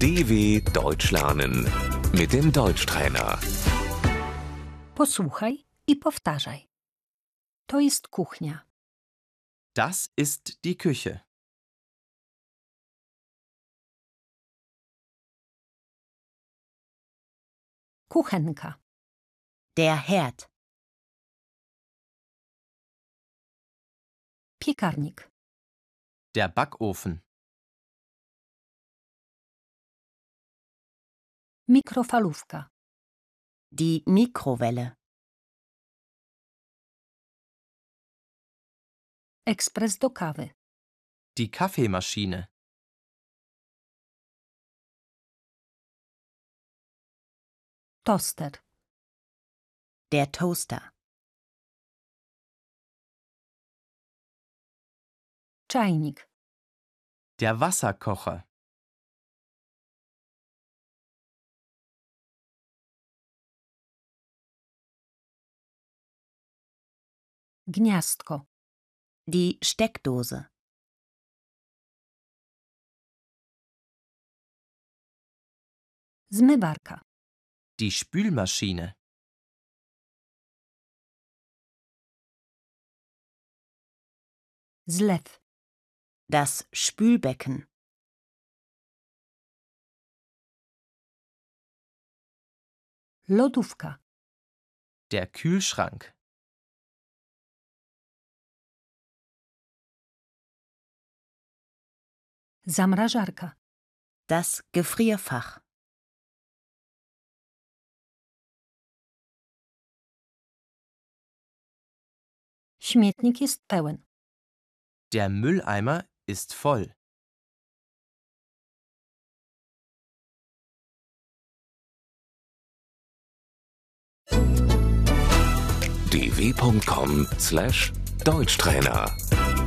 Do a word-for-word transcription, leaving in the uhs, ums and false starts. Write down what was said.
D W Deutsch lernen mit dem Deutschtrainer. Posłuchaj i powtarzaj. To jest kuchnia. Das ist die Küche. Kuchenka. Der Herd. Piekarnik. Der Backofen. Mikrofalówka. Die Mikrowelle. Ekspres do kawy. Die Kaffeemaschine. Toster. Der Toaster. Czajnik. Der Wasserkocher. Gniazdko. Die Steckdose. Zmywarka. Die Spülmaschine. Zlew. Das Spülbecken. Lodówka. Der Kühlschrank. Zamrażarka. Das Gefrierfach. Śmietnik jest pełen. Der Mülleimer ist voll. d w punkt com slash Deutschtrainer